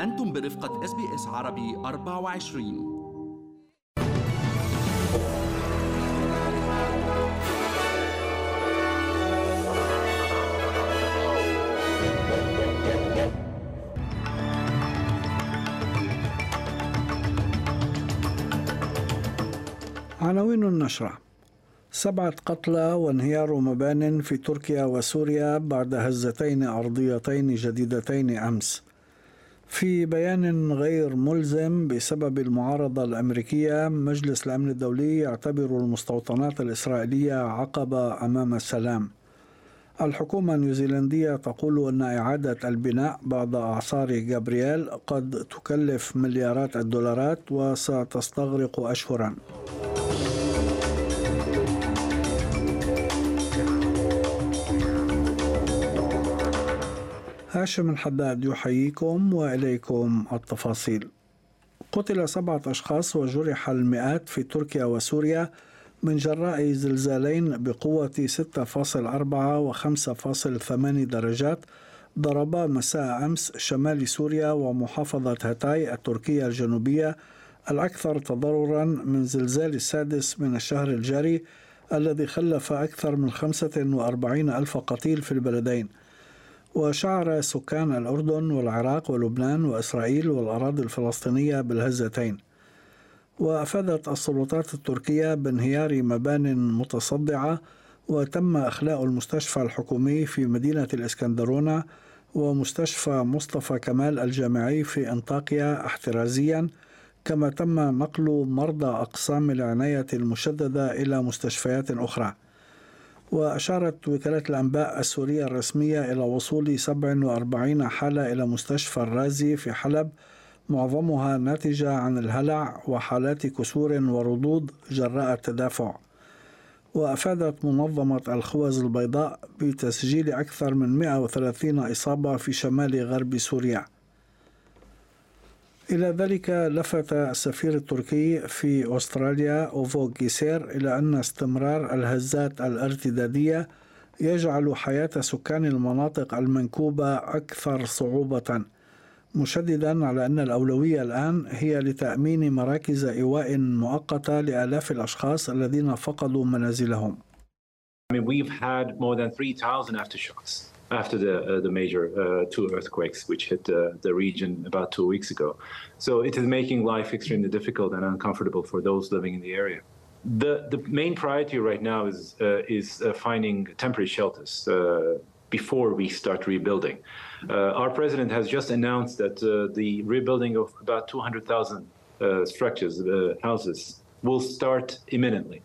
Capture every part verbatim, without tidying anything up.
أنتم برفقة إس بي إس عربي أربعة وعشرين. عناوين النشرة: سبعة قتلى وانهيار مبان في تركيا وسوريا بعد هزتين أرضيتين جديدتين أمس. في بيان غير ملزم بسبب المعارضة الأمريكية، مجلس الأمن الدولي يعتبر المستوطنات الإسرائيلية عقبة أمام السلام. الحكومة النيوزيلندية تقول أن إعادة البناء بعد أعصار جابرييل قد تكلف مليارات الدولارات وستستغرق أشهرا. هاشم الحداد يحييكم وإليكم التفاصيل. قتل سبعة أشخاص وجرح المئات في تركيا وسوريا من جراء زلزالين بقوة ستة فاصلة أربعة و خمسة فاصلة ثمانية درجات ضربا مساء أمس شمال سوريا ومحافظة هاتاي التركية الجنوبية، الأكثر تضررا من زلزال السادس من الشهر الجاري الذي خلف أكثر من خمسة وأربعين ألف قتيل في البلدين. وشعر سكان الأردن والعراق ولبنان وإسرائيل والأراضي الفلسطينية بالهزتين. وأفادت السلطات التركية بانهيار مبان متصدعة، وتم إخلاء المستشفى الحكومي في مدينة الإسكندرونة ومستشفى مصطفى كمال الجامعي في أنطاكيا احترازيا، كما تم نقل مرضى أقسام العناية المشددة إلى مستشفيات أخرى. وأشارت وكالة الأنباء السورية الرسمية إلى وصول سبع وأربعين حالة إلى مستشفى الرازي في حلب، معظمها ناتجة عن الهلع وحالات كسور وردود جراء التدافع. وأفادت منظمة الخوذ البيضاء بتسجيل أكثر من مئة وثلاثين إصابة في شمال غرب سوريا. إلى ذلك لفت السفير التركي في أستراليا أوفو جيسير إلى أن استمرار الهزات الارتدادية يجعل حياة سكان المناطق المنكوبة أكثر صعوبة، مشددا على أن الأولوية الآن هي لتأمين مراكز إيواء مؤقتة لآلاف الأشخاص الذين فقدوا منازلهم. I mean, we've had more than three thousand aftershocks after the uh, the major uh, two earthquakes which hit uh, the region about two weeks ago. So it is making life extremely difficult and uncomfortable for those living in the area. The the main priority right now is uh, is uh, finding temporary shelters uh, before we start rebuilding. Uh, our president has just announced that uh, the rebuilding of about two hundred thousand uh, structures, uh, houses, will start imminently.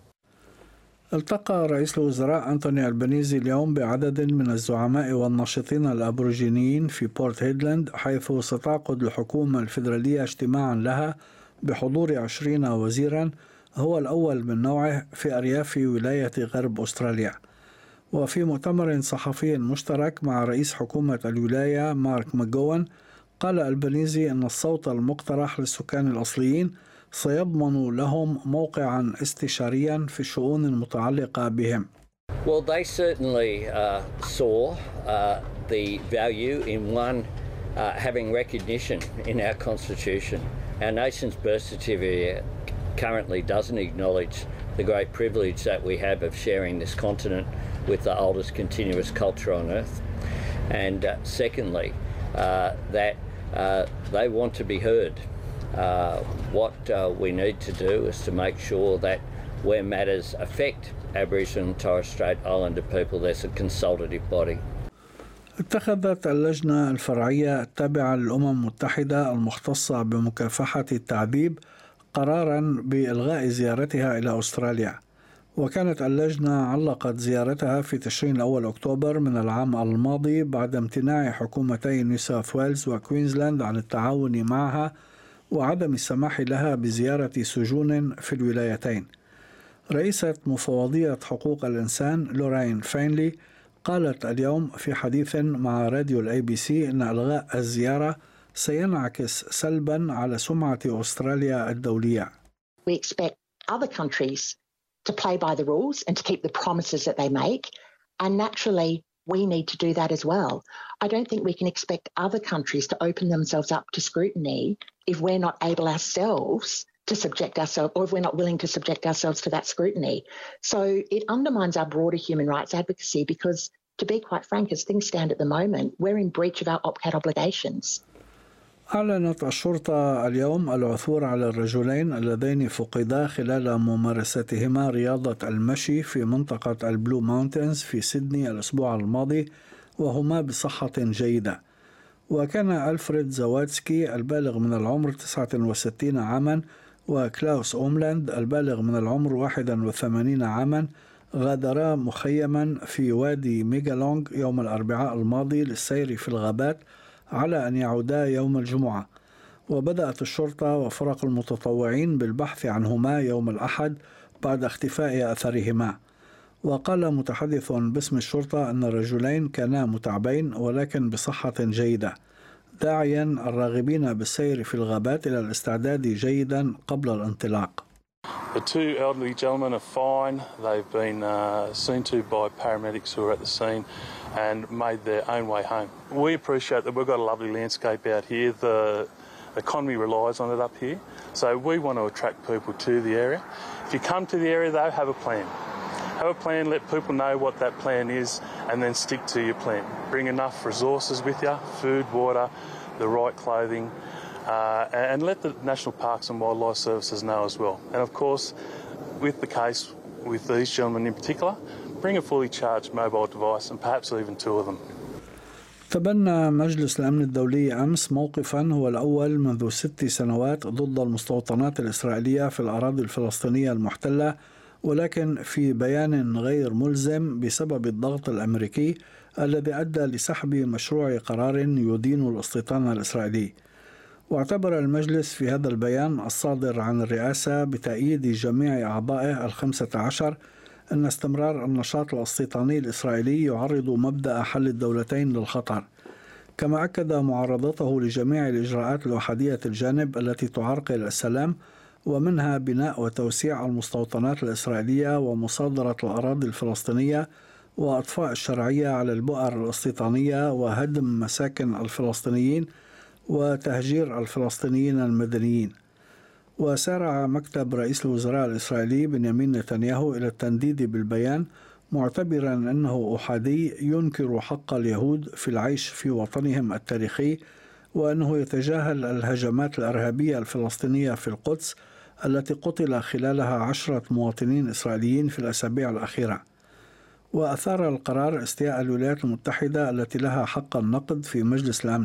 التقى رئيس الوزراء أنتوني ألبانيزي اليوم بعدد من الزعماء والناشطين الأبوريجينيين في بورت هيدلاند، حيث ستعقد الحكومة الفيدرالية اجتماعا لها بحضور عشرين وزيرا، هو الأول من نوعه في أرياف ولاية غرب أستراليا. وفي مؤتمر صحفي مشترك مع رئيس حكومة الولاية مارك ماجوان، قال ألبانيزي أن الصوت المقترح للسكان الأصليين سيضمن لهم موقعا استشاريا في الشؤون المتعلقة بهم. Well, they certainly uh, saw uh, the value in one uh, having recognition in our constitution. Our nation's birth certificate currently doesn't acknowledge the great privilege that we have of sharing this continent with the oldest continuous culture on earth. And uh, secondly, uh, that uh, they want to be heard. Uh, what uh, we need to do is to make sure that where matters affect Aboriginal and Torres Strait Islander people, there's a consultative body. اتخذت اللجنة الفرعية التابعة للأمم المتحدة المختصة بمكافحة التعذيب قراراً بإلغاء زيارتها إلى أستراليا. وكانت اللجنة علقت زيارتها في تشرين الأول أكتوبر من العام الماضي بعد امتناع حكومتي نيو ساوث ويلز وكوينزلاند عن التعاون معها وعدم السماح لها بزيارة سجون في الولايتين. رئيسة مفوضية حقوق الإنسان لورين فينلي قالت اليوم في حديث مع راديو الأي بي سي أن إلغاء الزيارة سينعكس سلبا على سمعة أستراليا الدولية. We expect other countries to play by the rules and to keep the promises that they make, and naturally we need to do that as well. I don't think we can expect other countries to open themselves up to scrutiny if we're not able ourselves to subject ourselves, or if we're not willing to subject ourselves to that scrutiny. So it undermines our broader human rights advocacy because, to be quite frank, as things stand at the moment, we're in breach of our OPCAT obligations. أعلنت الشرطة اليوم العثور على الرجلين اللذين فقدا خلال ممارستهما رياضة المشي في منطقة البلو ماونتنز في سيدني الأسبوع الماضي، وهما بصحة جيدة. وكان ألفريد زواتسكي البالغ من العمر تسعة وستين عاما وكلاوس أوملاند البالغ من العمر واحد وثمانين عاما غادرا مخيما في وادي ميغالونغ يوم الأربعاء الماضي للسير في الغابات على أن يعودا يوم الجمعة. وبدأت الشرطة وفرق المتطوعين بالبحث عنهما يوم الأحد بعد اختفاء أثرهما. وقال متحدث باسم الشرطة أن الرجلين كانا متعبين ولكن بصحة جيدة، داعيا الراغبين بالسير في الغابات إلى الاستعداد جيدا قبل الانطلاق. The two elderly gentlemen are fine. They've been uh, seen to by paramedics who are at the scene and made their own way home. We appreciate that we've got a lovely landscape out here. The economy relies on it up here. So we want to attract people to the area. If you come to the area though, have a plan. Have a plan, let people know what that plan is, and then stick to your plan. Bring enough resources with you, food, water, the right clothing, uh, and let the National Parks and Wildlife Services know as well. And of course, with the case with these gentlemen in particular, bring a fully charged mobile device and perhaps even two of them. تبنى مجلس الأمن الدولي أمس موقفا هو الأول منذ ست سنوات ضد المستوطنات الإسرائيلية في الأراضي الفلسطينية المحتلة، ولكن في بيان غير ملزم بسبب الضغط الأمريكي الذي أدى لسحب مشروع قرار يدين الاستيطان الإسرائيلي. واعتبر المجلس في هذا البيان الصادر عن الرئاسة بتأييد جميع أعضائه الخمسة عشر أن استمرار النشاط الاستيطاني الإسرائيلي يعرض مبدأ حل الدولتين للخطر، كما أكد معارضته لجميع الإجراءات الأحادية الجانب التي تعرقل السلام، ومنها بناء وتوسيع المستوطنات الإسرائيلية ومصادرة الأراضي الفلسطينية وإطفاء الشرعية على البؤر الاستيطانية وهدم مساكن الفلسطينيين وتهجير الفلسطينيين المدنيين. وسارع مكتب رئيس الوزراء الإسرائيلي بنيامين نتنياهو إلى التنديد بالبيان، معتبرا أنه أحادي ينكر حق اليهود في العيش في وطنهم التاريخي، وأنه يتجاهل الهجمات الإرهابية الفلسطينية في القدس التي قتل خلالها عشرة مواطنين إسرائيليين في الأسابيع الأخيرة. وأثار القرار استياء الولايات المتحدة التي لها حق النقد في مجلس الأمن،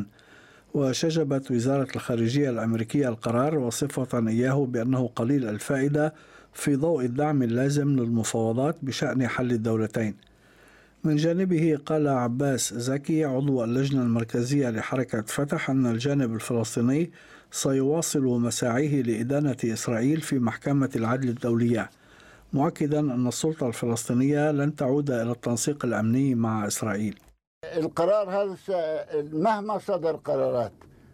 وشجبت وزارة الخارجية الأمريكية القرار وصفة إياه بأنه قليل الفائدة في ضوء الدعم اللازم للمفاوضات بشأن حل الدولتين. من جانبه قال عباس زكي عضو اللجنة المركزية لحركة فتح أن الجانب الفلسطيني سيواصل مساعيه لإدانة إسرائيل في محكمة العدل الدولية، مؤكدا أن السلطة الفلسطينية لن تعود إلى التنسيق الأمني مع إسرائيل. القرار هذا مهما صدر قرارات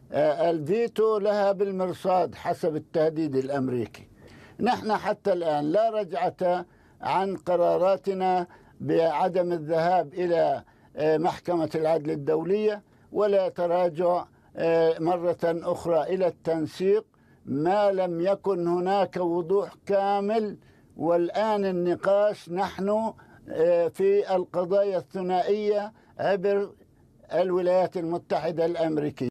الفيتو لها بالمرصاد حسب التهديد الأمريكي. نحن حتى الآن لا رجعة عن قراراتنا بعدم الذهاب إلى محكمة العدل الدولية ولا تراجع مرة أخرى إلى التنسيق ما لم يكن هناك وضوح كامل. والآن النقاش نحن في القضايا الثنائية عبر الولايات المتحدة الأمريكية.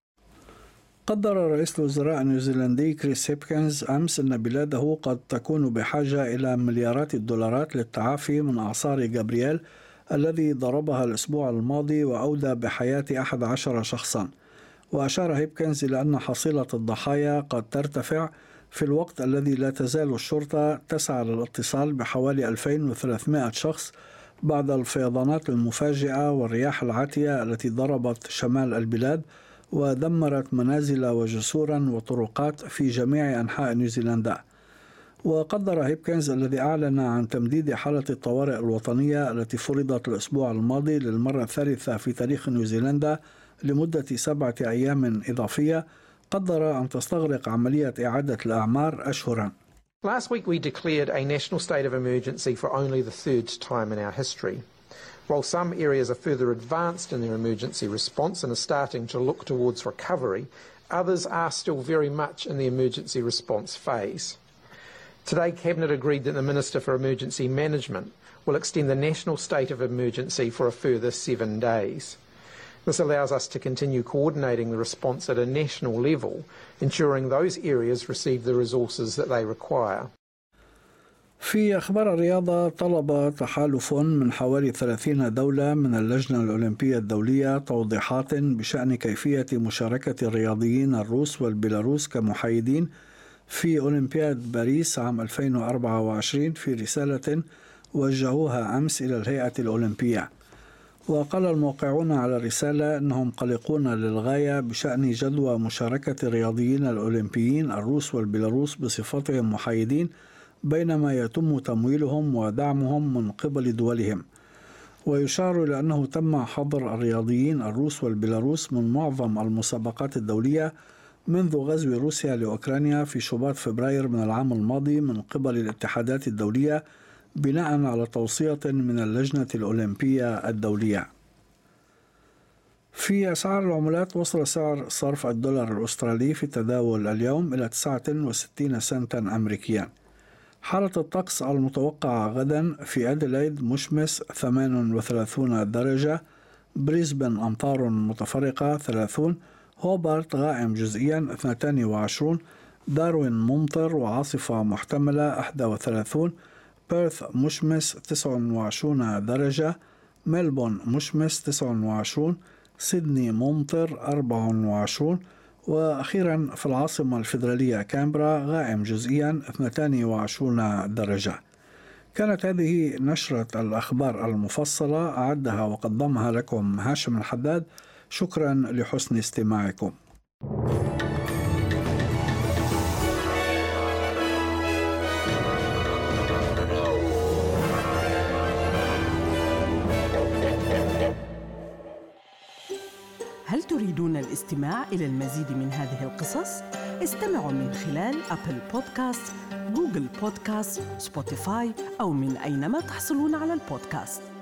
قدر رئيس الوزراء النيوزيلندي كريس هيبكنز أمس أن بلاده قد تكون بحاجة إلى مليارات الدولارات للتعافي من أعصار جابرييل الذي ضربها الأسبوع الماضي وأودى بحياة أحد عشر شخصا. وأشار هيبكنز إلى أن حصيلة الضحايا قد ترتفع في الوقت الذي لا تزال الشرطة تسعى للاتصال بحوالي ألفين وثلاثمائة شخص بعد الفيضانات المفاجئة والرياح العاتية التي ضربت شمال البلاد ودمرت منازل وجسورا وطرقات في جميع أنحاء نيوزيلندا. وقدر هيبكنز الذي أعلن عن تمديد حالة الطوارئ الوطنية التي فرضت الأسبوع الماضي للمرة الثالثة في تاريخ نيوزيلندا لمدة سبعة أيام إضافية، قدر أن تستغرق عملية إعادة الأعمار أشهرا. Last week we declared a national state of emergency for only the third time in our history. While some areas are further advanced in their emergency response and are starting to look towards recovery, others are still very much in the emergency response phase. Today, Cabinet agreed that the Minister for Emergency Management will extend the national state of emergency for a further seven days. This allows us to continue coordinating the response at a national level, ensuring those areas receive the resources that they require. في أخبار الرياضة، طلب تحالف من حوالي ثلاثين دولة من اللجنة الأولمبية الدولية توضيحات بشأن كيفية مشاركة الرياضيين الروس والبيلاروس كمحايدين في أولمبياد باريس عام ألفين وأربعة وعشرين في رسالة وجهوها أمس إلى الهيئة الأولمبية. وقال الموقعون على الرسالة أنهم قلقون للغاية بشأن جدوى مشاركة الرياضيين الأولمبيين الروس والبيلاروس بصفتهم محايدين بينما يتم تمويلهم ودعمهم من قبل دولهم. ويشار إلى أنه تم حظر الرياضيين الروس والبيلاروس من معظم المسابقات الدولية منذ غزو روسيا لأوكرانيا في شباط فبراير من العام الماضي من قبل الاتحادات الدولية بناء على توصية من اللجنة الأولمبية الدولية. في أسعار العملات، وصل سعر صرف الدولار الأسترالي في التداول اليوم إلى تسعة وستين سنتا أمريكيا. حالة الطقس المتوقعة غدا: في أديلايد مشمس ثمانية وثلاثين درجة، بريسبن أمطار متفرقة ثلاثين، هوبارت غائم جزئيا اثنين وعشرين، داروين ممطر وعاصفة محتملة واحد وثلاثين، بيرث مشمس تسعة وعشرين درجة، ملبون مشمس تسعة وعشرين، سيدني ممطر أربعة وعشرين، وأخيرا في العاصمة الفيدرالية كامبرا غائم جزئيا اثنين وعشرين درجة. كانت هذه نشرة الأخبار المفصلة، أعدها وقدمها لكم هاشم الحداد. شكرا لحسن استماعكم. هل تريدون الاستماع إلى المزيد من هذه القصص؟ استمعوا من خلال أبل بودكاست، جوجل بودكاست، سبوتيفاي أو من أينما تحصلون على البودكاست.